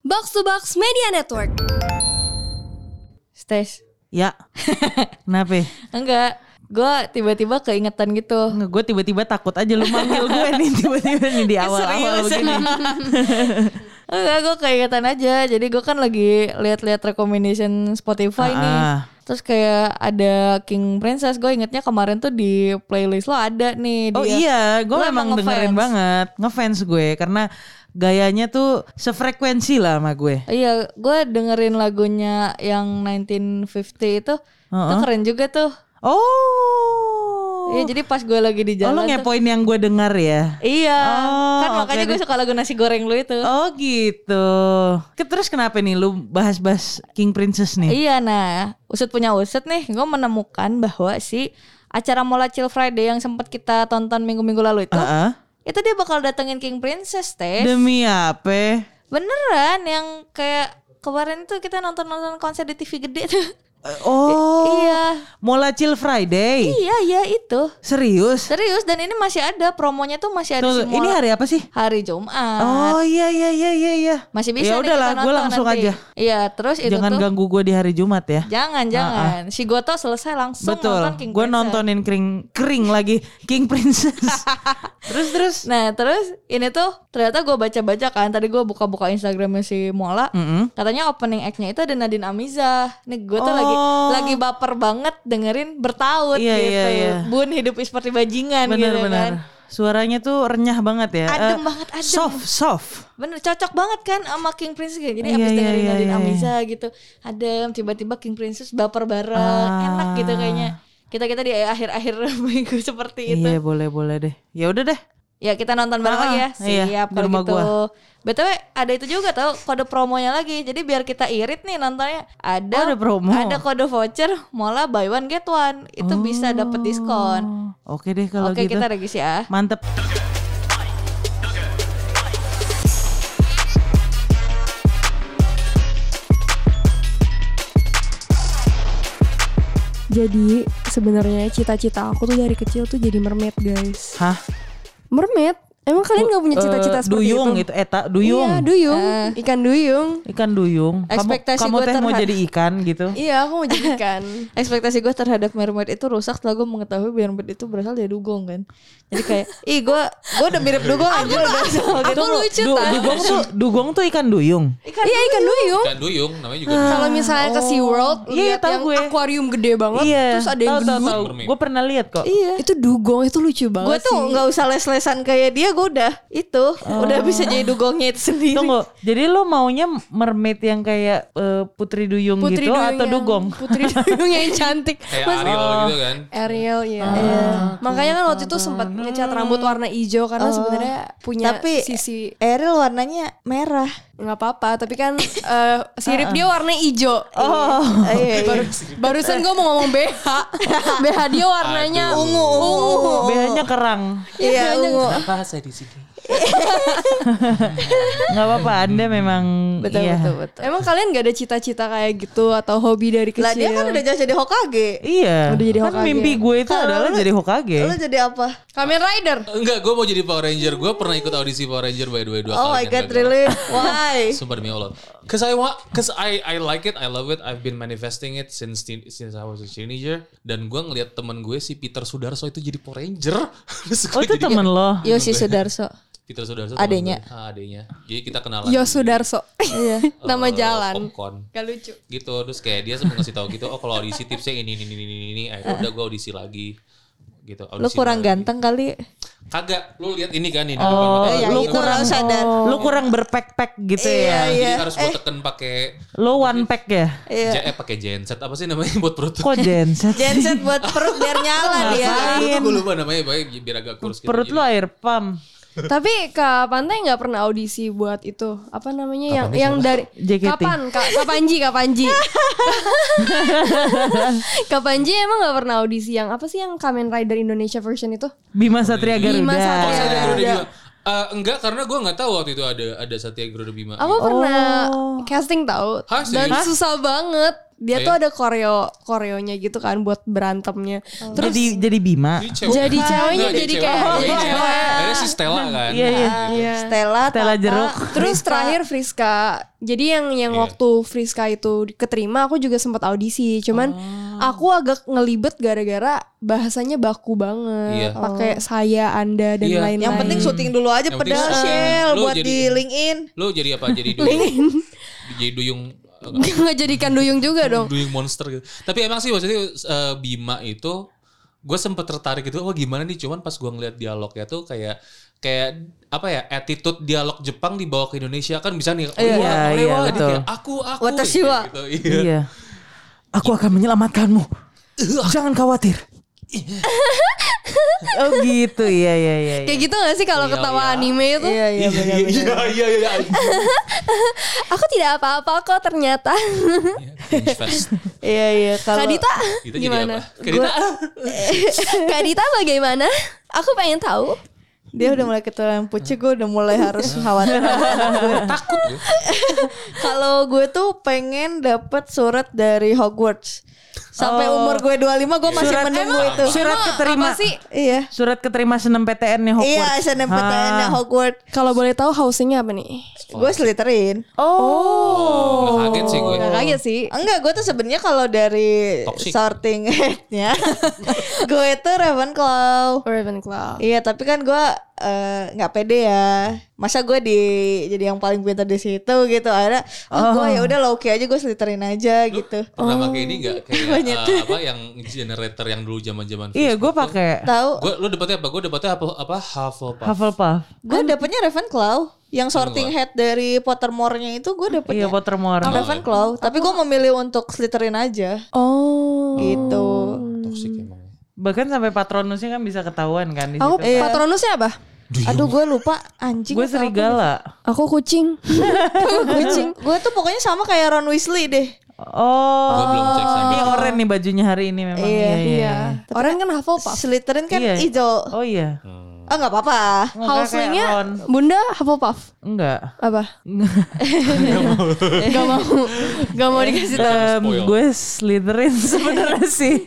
Box to Box Media Network. Stes. Ya. Kenapa? Enggak. Gue tiba-tiba keingetan gitu. Enggak, gue tiba-tiba takut aja lu manggil gue nih tiba-tiba nih di awal-awal begini. Enggak, gue keingetan aja. Jadi gue kan lagi lihat-lihat recommendation Spotify nih. Terus kayak ada King Princess. Gue ingetnya kemarin tuh di playlist lo ada nih. Oh iya, gue memang dengerin banget. Ngefans gue karena gayanya tuh sefrekuensi lah sama gue. Iya, gue dengerin lagunya yang 1950 itu. Itu keren juga tuh. Oh. Iya, jadi pas gue lagi di jalan. Oh, lo ngepoin yang gue dengar ya? Iya. Kan makanya gue suka lagu nasi goreng lu itu. Oh gitu. Terus kenapa nih lu bahas-bahas King Princess nih? Iya, nah usut punya usut nih, gue menemukan bahwa si acara Mola Chill Friday yang sempat kita tonton minggu-minggu lalu itu dia bakal datengin King Princess, Tess. Demi apa? Beneran, yang kayak kemarin tuh kita nonton konser di TV gede tuh. Iya. Mola Chill Friday. Iya itu. Serius? Dan ini masih ada promonya tuh, masih ada semua. Ini hari apa sih? Hari Jumat. Oh iya. Masih bisa ya nih udahlah, kita gue nonton langsung nanti. aja. Iya, terus itu jangan tuh. Ganggu gue di hari Jumat ya. Jangan. Si Goto selesai langsung nonton King Princess. Gue nontonin kering lagi King Princess. terus. Nah terus ini tuh ternyata gue baca-baca kan. Tadi gue buka-buka Instagramnya si Mola. Katanya opening act-nya itu ada Nadine Amiza. Nih gue tuh lagi baper banget dengerin bertaut gitu. Iya. Bun hidup seperti bajingan gitu kan. Suaranya tuh renyah banget ya. Adem banget. Soft. Bener, cocok banget kan sama King Princess gitu. Jadi abis dengerin Nadine Amiza gitu, adem, tiba-tiba King Princess baper bareng. Enak gitu kayaknya. Kita di akhir-akhir minggu seperti itu. Iya, boleh deh. Ya udah deh. Ya kita nonton bareng lagi ya. Siap kalau gitu. BTW ada itu juga tau, kode promonya lagi. Jadi biar kita irit nih nontonnya. Ada promo. Ada kode voucher Mola buy one get one. Itu bisa dapat diskon. Oke deh kalau gitu. Oke, kita regisi ya. Mantep. Jadi sebenarnya cita-cita aku tuh dari kecil tuh jadi mermaid, guys. Hah? Mermaid? Emang kalian gak punya cita-cita seperti duyung itu? Duyung. Iya, duyung. Ikan duyung. Ekspektasi kamu gue teh mau jadi ikan gitu? Iya, aku mau jadi ikan. Ekspektasi gue terhadap mermaid itu rusak setelah gue mengetahui mermaid itu berasal dari dugong kan. Jadi kayak, gue udah mirip dugong aja udah soal gitu. Aku lucu Dugong tuh ikan duyung. Iya, ikan duyung. Ikan duyung namanya juga. Kalau misalnya ke SeaWorld, lihat yang akuarium gede banget, terus ada yang gendut. Gue pernah lihat kok. Iya. Itu dugong, itu lucu banget. Gue tuh nggak usah les-lesan kayak dia, gue udah itu udah bisa jadi dugongnya itu sendiri. Tunggu, jadi lo maunya mermaid yang kayak putri duyung gitu atau dugong? Putri duyung yang cantik. Kayak Ariel gitu kan. Ariel ya. Makanya kan waktu itu sempat ngecat rambut warna hijau karena sebenarnya punya sisi Ariel warnanya merah. nggak apa-apa, tapi kan sirip dia warna hijau. Barusan gue mau ngomong BH. BH dia warnanya ungu. BH-nya kerang. Iya, ungu. Kenapa saya di sini? Nggak apa-apa, Anda memang Betul. Emang kalian gak ada cita-cita kayak gitu atau hobi dari kecil? Lah dia kan udah jadi Hokage. Iya. Udah jadi kan Hokage. mimpi gue itu adalah jadi Hokage. Lu jadi apa? Kamen Rider. Enggak, gue mau jadi Power Ranger. Gue pernah ikut audisi Power Ranger by the way 2 kali. Oh my god, really? Why? Sumpah demi Allah. Cause I like it, I love it. I've been manifesting it since I was a teenager. Dan gue ngeliat temen gue si Peter Sudarso itu jadi Power Ranger. Oh itu temen lo? Yosi Sudarso. Peter Sudarso adenya. Adenya. Jadi kita kenalan. Yosudarso. Iya. Nama jalan. Popcorn. Gak lucu. Gitu, terus kayak dia sempat ngasih tahu gitu, oh kalau audisi tipsnya ini. Akhirnya udah gue audisi lagi. Gitu. Lu kurang ganteng kali. Kagak, lu lihat ini kan ini. Lu itu kurang sadar. Lu kurang berpack gitu ya. Jadi harus gue teken pakai. Lu one pack ya? Pakai genset apa sih namanya buat perut? Kok genset? Genset buat perut biar nyala dia. Gue lupa namanya, biar agak kurus gitu. Perut lu air pump. Tapi Kak Pantai nggak pernah audisi buat itu apa namanya yang dari JKT. Kak Panji Kak Panji emang nggak pernah audisi yang apa sih yang Kamen Rider Indonesia version itu? Bima Satria Garuda. Bima Satria Garuda. Enggak, karena gue nggak tahu waktu itu ada Satya Garuda Bima. Aku pernah casting tahu dan susah banget. Dia tuh ada koreonya gitu kan buat berantemnya. Terus jadi Bima. Jadi ceweknya jadi kayak jadi cewek. Ada si Stella kan. Iya. Stella Jeruk. Terus terakhir Friska. Jadi yang waktu Friska itu keterima aku juga sempat audisi. Cuman aku agak ngelibet gara-gara bahasanya baku banget. Pakai saya, Anda dan lain-lain. Yang penting syuting dulu aja pedal buat di LinkedIn. Lu jadi apa? Jadi duyung. Jadi duyung. Nggak jadikan duyung juga dong. Duyung monster gitu. Tapi emang sih maksudnya Bima itu gue sempet tertarik gitu. Oh gimana nih, cuman pas gue ngeliat dialognya tuh kayak apa ya, attitude dialog Jepang dibawa ke Indonesia kan bisa nih. Iya betul. Kayak, aku Watashi wa. gitu. Iya. Aku akan menyelamatkanmu. Jangan khawatir. Oh gitu, iya. Kayak gitu gak sih kalau ketawa anime itu? Iya benar. Iya. Aku tidak apa-apa kok ternyata. Iya. Kak Dita gimana? Kak Dita bagaimana? Aku pengen tahu. Dia udah mulai keturunan pucuk, gue udah mulai harus khawatir. Takut gue. Kalau gue tuh pengen dapat surat dari Hogwarts. Sampai umur gue 25 gue masih menunggu itu. Surat keterima. Apa sih? Iya. Surat keterima SNMPTN-nya Hogwarts. Iya, SNMPTN-nya Hogwarts. Kalau boleh tahu housingnya apa nih? Gue Slytherin. Nggak kaget sih gue. Gak kaget sih. Enggak, gue tuh sebenarnya kalau dari Toxic. sorting head-nya gue tuh Ravenclaw. Ravenclaw. Iya, tapi kan gue nggak pede ya. Masa gue jadi yang paling pintar di situ gitu. Akhirnya gue ya udah low key aja, gue Slytherin aja gitu. Pernah pakai ini enggak kayak apa yang generator yang dulu zaman-zaman Iya, gue pakai. Tahu? Lu dapetnya apa? Gue dapetnya apa? Hufflepuff. Gue dapetnya Ravenclaw. Yang sorting head dari Pottermore-nya itu gue dapetnya Iya, Pottermore. Ravenclaw. Tapi gue memilih untuk Slytherin aja. Gitu. Toxic emang. Bahkan sampai Patronusnya kan bisa ketahuan kan di situ. Aku Patronusnya apa? Aduh, gue lupa anjing. Gue serigala. Aku kucing. Gue tuh pokoknya sama kayak Ron Weasley deh. Gua belum cek sama. Ini oranye nih bajunya hari ini memang. Iya. Orang kan Hufflepuff. Slytherin kan Iya. hijau. Oh iya. Nggak apa-apa. Houselingnya Bunda Hufflepuff. Enggak. Apa? Gak mau dikasih tahu. Gue Slytherin sebenarnya sih.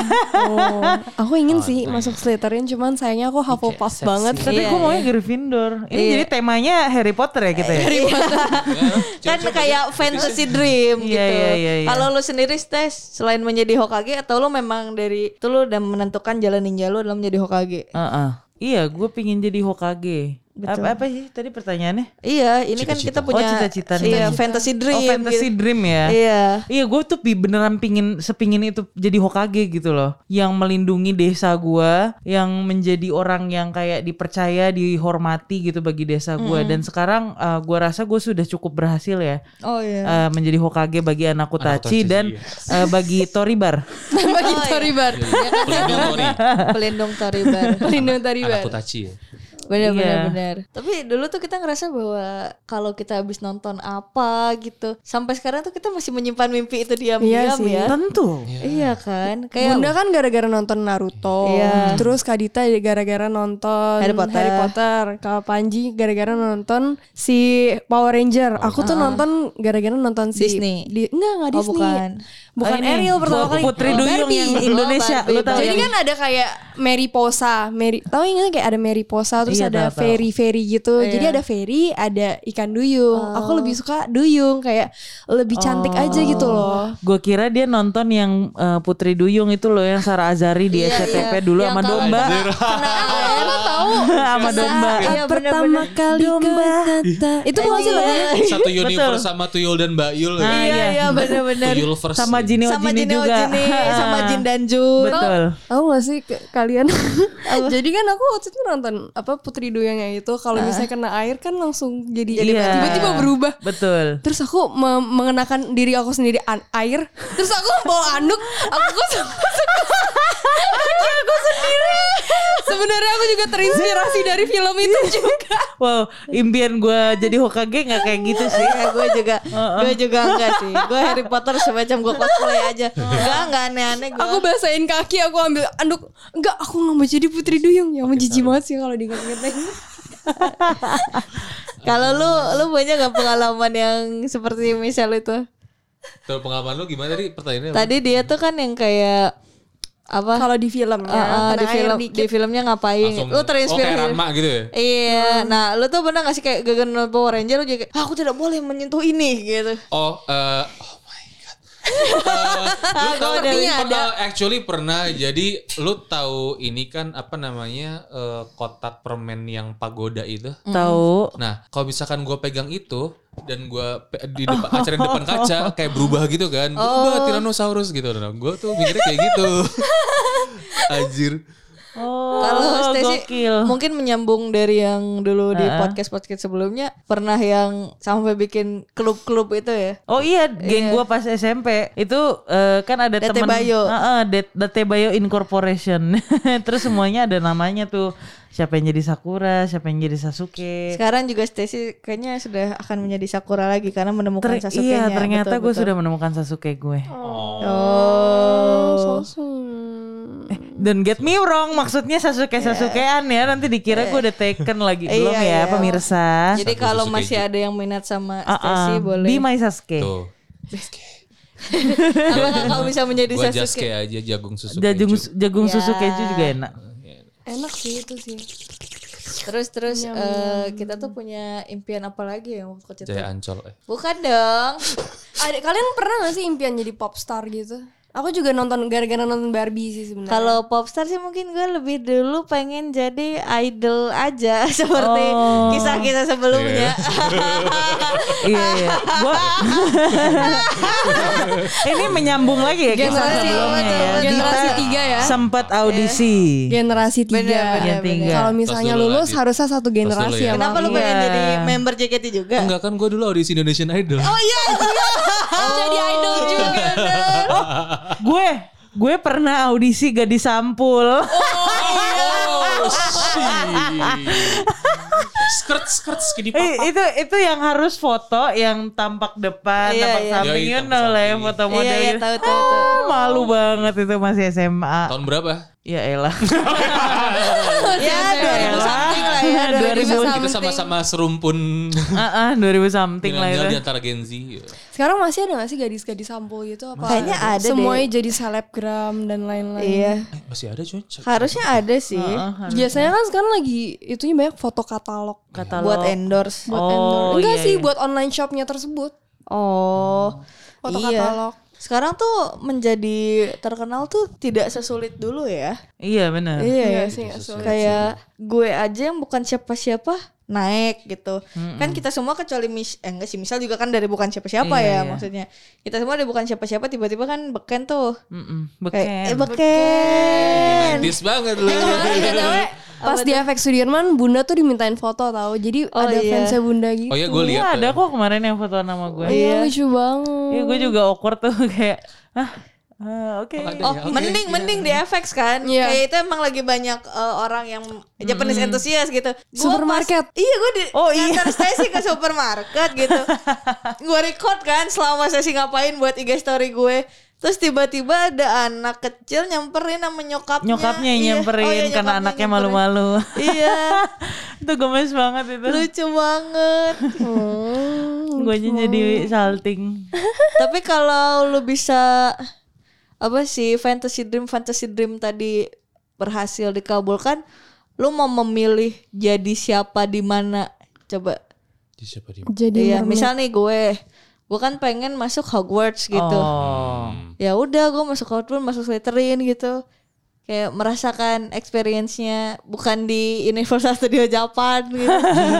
Aku ingin sih masuk Slytherin, cuman sayangnya aku Hufflepuff banget. Tapi gue maunya Gryffindor. Ini jadi temanya Harry Potter ya kita ya. Kan kayak fantasy dream gitu. Iya. Kalau lu sendiri Stes, selain menjadi Hokage atau lu memang dari itu lu udah menentukan jalan ninja lu adalah menjadi Hokage? Iya, gue pingin jadi Hokage. Apa sih tadi pertanyaannya? Iya, ini kan kita punya cita-cita. Iya, fantasy dream. Oh, fantasy gitu. dream ya. Iya, gue tuh beneran sepingin itu jadi Hokage gitu loh. Yang melindungi desa gue, yang menjadi orang yang kayak dipercaya, dihormati gitu bagi desa gue. Dan sekarang gue rasa gue sudah cukup berhasil ya. Oh iya. Menjadi Hokage bagi anak Tachi dan bagi Toribar. Bagi Toribar. Pelindung Toribar. Pelindung Toribar. Anak Tachi ya. Benar. Tapi dulu tuh kita ngerasa bahwa kalau kita habis nonton apa gitu, sampai sekarang tuh kita masih menyimpan mimpi itu diam-diam ya. Tentu. Iya kan. Kayak Bunda kan gara-gara nonton Naruto. Terus Kak Dita gara-gara nonton Harry Potter. Kak Panji gara-gara nonton si Power Ranger. Aku tuh nonton gara-gara nonton si Disney. Enggak Disney. Bukan Ariel pertama kali. Putri Duyung yang Indonesia. Lu tahu? Jadi kan ada kayak Mariposa. Tahu ingat kayak ada Mariposa terus ada fairy gitu. Jadi ada fairy, ada ikan duyung. Aku lebih suka duyung, kayak lebih cantik aja gitu loh. Gue kira dia nonton yang Putri Duyung itu loh, yang Sarah Azari di SCTV dulu sama domba. Aku tahu sama domba. Pertama kali domba. Itu bukan sih lah. Satu universe sama Tuyul dan Bayul. Iya benar-benar. Tuyulverse. Sama Jini juga. Sama Jin dan Jun. Betul. Tahu gak sih kalian? Jadi kan aku waktu itu nonton Putri Duyungnya itu, kalau misalnya kena air kan langsung jadi tiba-tiba berubah. Betul. Terus aku mengenakan diri aku sendiri air. Terus aku bawa anduk. Aku sendiri. Sebenarnya aku juga terinspirasi dari film itu juga. Wow, impian gue jadi Hokage nggak kayak gitu sih. Gue juga enggak sih. Gue Harry Potter semacam gue cosplay aja. Enggak aneh-aneh gue. Aku basahin kaki, aku ambil anduk. Enggak, aku nggak mau jadi Putri Duyung. Yang menjijik banget sih kalau diingat-ingat lagi. Kalau lu punya gak pengalaman yang seperti misal itu? Tuh pengalaman lu gimana tadi pertanyaannya? Tadi dia tuh kan yang kayak apa? Kalau di filmnya, di filmnya ngapain? Langsung, Lu terinspirasi. kayak Ranma gitu ya? Iya. Nah, lu tuh pernah gak sih kayak gagal Power Ranger lu jadi kayak, aku tidak boleh menyentuh ini gitu. Oh my god. Actually pernah. Jadi lu tahu ini kan apa namanya kotak permen yang pagoda itu? Tahu. Nah, kalau misalkan gue pegang itu dan gue di depan acara di depan kaca kayak berubah gitu kan, berubah Tyrannosaurus gitu. Nah, gue tuh mikirnya kayak gitu. Anjir. Kalau Stacy mungkin menyambung dari yang dulu di podcast sebelumnya, pernah yang sampai bikin klub-klub itu ya? Oh iya, geng gua pas SMP itu kan ada teman Date Bayo Incorporation. Terus semuanya ada namanya tuh. Siapa yang jadi Sakura, siapa yang jadi Sasuke. Sekarang juga Stacy kayaknya sudah akan menjadi Sakura lagi karena menemukan Sasuke-nya. Iya, ternyata gue sudah menemukan Sasuke gue. Don't get me wrong, maksudnya Sasukean ya. Nanti dikira gue udah taken lagi. Belum ya pemirsa. Jadi kalau masih ada yang minat sama Stacy boleh. Be my Sasuke. Tuh. Apakah kau bisa menjadi Sasuke? Gue Sasuke aja, jagung susu Jagung susu keju juga enak. Enak sih itu sih. Terus kita tuh punya impian apa lagi ya waktu kecil? Jaya Ancol. Bukan dong. Kalian pernah gak sih impian jadi popstar gitu? Aku juga gara-gara nonton Barbie sih sebenarnya. Kalau popstar sih mungkin gue lebih dulu pengen jadi idol aja seperti kisah-kisah sebelumnya. Iya. Ini menyambung lagi ya generasi generasi 3 ya. Sempat audisi. Generasi 3. Kalau misalnya lulus harusnya satu generasi ya. Kenapa lu pengen jadi member JKT juga? Enggak kan, gue dulu audisi Indonesian Idol. Oh iya. Jadi idol juga. Gue pernah audisi Gadis Sampul. Skirt skinny papa. Itu yang harus foto yang tampak depan, tampak samping, lah foto model. Iya, tahu. Malu banget itu masih SMA. Tahun berapa? Ya elah. Ya 2000 something lah ya. 2000 kita sama-sama serumpun. 2000 something lah itu. Di antara Gen Z. Sekarang masih ada gak sih gadis-gadis sampul gitu apa? Kayaknya ada semuanya jadi selebgram dan lain-lain. Iya. Masih ada cuy. Harusnya ada sih. Biasanya kan sekarang lagi itunya banyak foto katalog. Buat endorse. Enggak sih buat online shopnya tersebut. Foto katalog. Sekarang tuh menjadi terkenal tuh tidak sesulit dulu ya. Iya benar. Iya sih. Kayak gue aja yang bukan siapa-siapa naik gitu. Kan kita semua kecuali enggak sih, misal juga kan dari bukan siapa-siapa ya maksudnya. Kita semua dari bukan siapa-siapa tiba-tiba kan beken tuh. Beken. Beken. Dis banget lu. Pas di FX Sudirman Bunda tuh dimintain foto tahu. Jadi ada fansnya Bunda gitu. Oh iya gue lihat. Ada kok kemarin yang foto nama gue. Iya lucu banget. Iya gue juga awkward tuh kayak oke. Mending di FX kan. Kayak itu emang lagi banyak orang yang Japanese enthusiast gitu. Supermarket. Gue ngantar Stacy ke supermarket gitu. Gue record kan selama Stacy ngapain buat IG story gue. Terus tiba-tiba ada anak kecil nyamperin sama nyokapnya. Nyokapnya nyamperin karena anaknya malu-malu. Iya. Itu gemes banget itu. Lucu banget. Gue jadi salting. Tapi kalau lu bisa fantasy dream tadi berhasil dikabulkan, lu mau memilih jadi siapa di mana? Coba. Jadi siapa di mana? Jadi misal nih gue kan pengen masuk Hogwarts gitu. Ya udah gue masuk Hogwarts, masuk Slytherin gitu. Kayak merasakan experience-nya bukan di Universal Studio Japan gitu.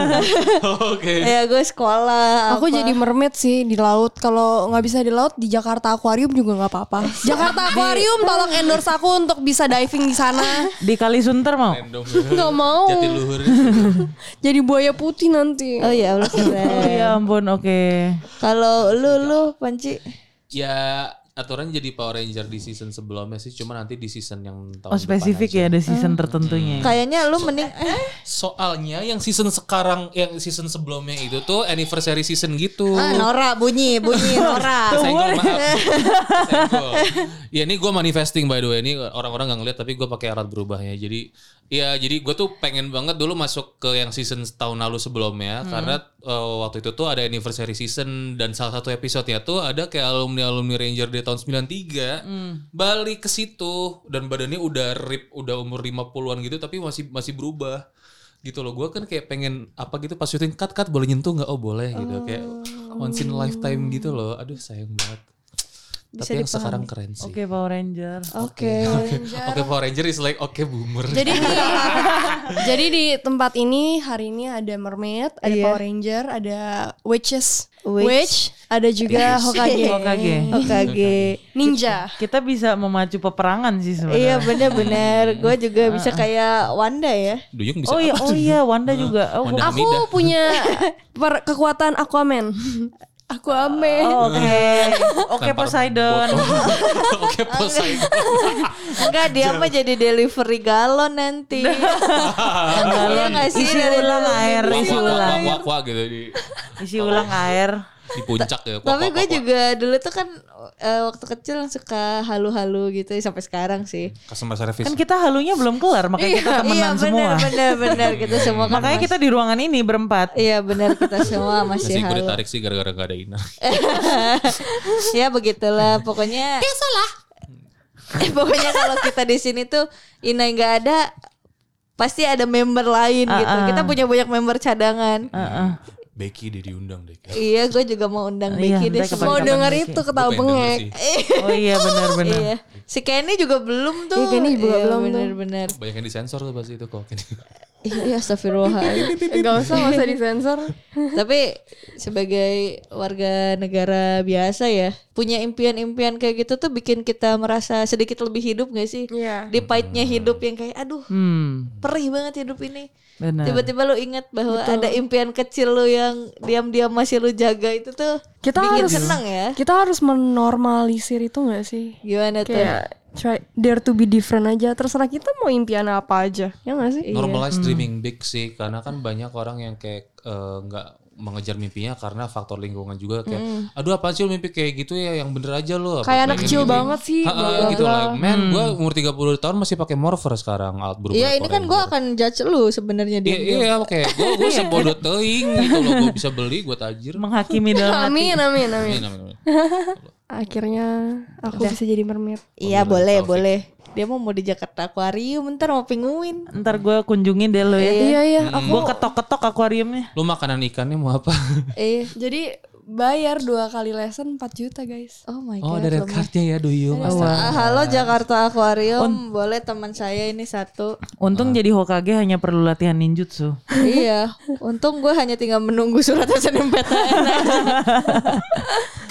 Oke. Ya gue sekolah. Aku jadi mermaid sih di laut. Kalau nggak bisa di laut di Jakarta Aquarium juga nggak apa-apa. Jakarta Aquarium tolong endorse aku untuk bisa diving di sana. Di Kalisunter mau? Nggak mau. Jatiluhur. Jadi buaya putih nanti. Oh ya Allah. Oh ya ampun, oke. Kalau lu Panci? Ya aturan jadi Power Ranger di season sebelumnya sih, cuma nanti di season yang tahun spesifik ya, ada season tertentunya. Kayaknya lu mending soalnya yang season sekarang, yang season sebelumnya itu tuh anniversary season gitu. Nora bunyi Nora. Senggol, maaf. Senggol. Ya ini gue manifesting by the way, ini orang-orang gak ngeliat tapi gue pakai alat berubahnya. Jadi Iya, jadi gue tuh pengen banget dulu masuk ke yang season tahun lalu sebelumnya karena waktu itu tuh ada anniversary season dan salah satu episode-nya tuh ada kayak alumni Ranger dari tahun 93 balik ke situ dan badannya udah rip, udah umur 50-an gitu tapi masih berubah. Gitu loh, gue kan kayak pengen apa gitu pas syuting cut boleh nyentuh nggak? Oh boleh gitu, kayak once in a lifetime gitu loh. Aduh sayang banget. Bisa Tapi yang dipahami. sekarang keren sih. Oke, Power Ranger. Oke. Oke, Power Ranger is like oke boomer. Jadi di tempat ini hari ini ada mermaid, ada Iya. Power Ranger, ada witch, Witch. ada juga Hokage, Hokage. ninja. Kita bisa memacu peperangan sih sebenarnya. Iya benar-benar. Gue juga bisa kayak Wanda ya. Duyung bisa Oh iya, Wanda juga. Oh, Wanda Aku Hamida. punya kekuatan Aquaman. Aquaman. Oke, Poseidon. Oke, Poseidon. Enggak, dia mah jadi delivery galon nanti. Iya nggak sih? Isi ulang air, isi ulang. Wak gitu Isi ulang air. di puncak ya. Tapi gue juga dulu tuh kan waktu kecil suka halu-halu gitu sampai sekarang sih. Customer service. Kan kita halunya belum kelar, makanya kita temenan semua. benar kita semua kan. Makanya kita di ruangan ini berempat. Iya benar kita semua masih Masih gue halu. ditarik sih gara-gara gak ada Ina. Ya begitulah pokoknya. Biasalah. Pokoknya kalau kita di sini tuh Ina nggak ada, pasti ada member lain gitu. Kita punya banyak member cadangan. Becky dia diundang deh. Iya, gue juga mau undang Iya, Becky deh. ntar Semua kapan-kapan denger Becky. itu ketawa bengek. Oh iya benar-benar. Iya. Si Kenny juga belum tuh. Iya, Kenny juga belum tuh. Bener-bener. Banyak yang disensor tuh pas itu kok. Iya, astagfirullahaladzim. Gak usah disensor. Tapi sebagai warga negara biasa ya, punya impian-impian kayak gitu tuh bikin kita merasa sedikit lebih hidup gak sih? Iya. Di pahitnya hidup yang kayak aduh, perih banget hidup ini. Benar. Tiba-tiba lu ingat bahwa ada impian kecil lu yang diam-diam masih lu jaga itu tuh Kita bikin harus seneng ya. Kita harus menormalisir itu gak sih? Gimana tuh? Kayak try dare to be different aja. Terserah kita mau impian apa aja. Ya gak sih? Normalize dreaming big sih, karena kan banyak orang yang kayak nggak mengejar mimpinya karena faktor lingkungan juga kayak aduh apa sih lu mimpi kayak gitu ya, yang bener aja lu. Kayak anak kecil banget sih. Gitu lah. Men, gue umur 30 tahun masih pakai morpher sekarang alat berubah. Iya, ini kan gue akan judge lu sebenarnya dia. Iya, oke. Gue sebodoh teuing gitu loh, gue bisa beli, gue tajir. Menghakimi dalam hati. Amin. Amin. Akhirnya aku bisa jadi mermaid. Iya, boleh. Dia mau di Jakarta Aquarium, ntar mau penguin. Ntar gue kunjungin deh lo ya. Iya. Gue ketok-ketok akuariumnya. Lu makanan ikannya mau apa? Jadi bayar 2 kali lesson 4 juta guys. Oh my Oh, god. ada red cardnya ya, Duyung. Halo Jakarta Aquarium, boleh teman saya ini satu. Untung jadi Hokage hanya perlu latihan ninjutsu. Iya, untung gue hanya tinggal menunggu surat SNMPTN aja.